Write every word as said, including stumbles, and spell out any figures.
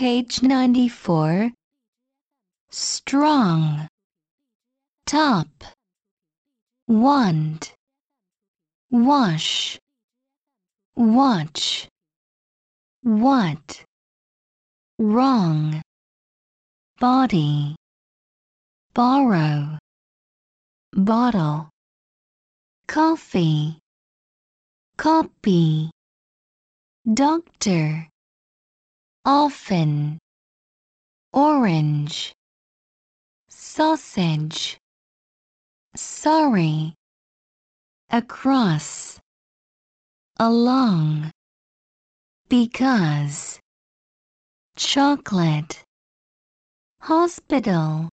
Page ninety-four. Strong. Top. Want. Wash. Watch. What. Wrong. Body. Borrow. Bottle. Coffee. Copy. Doctor. Often. Orange. Sausage. Sorry. Across. Along. Because. Chocolate. Hospital.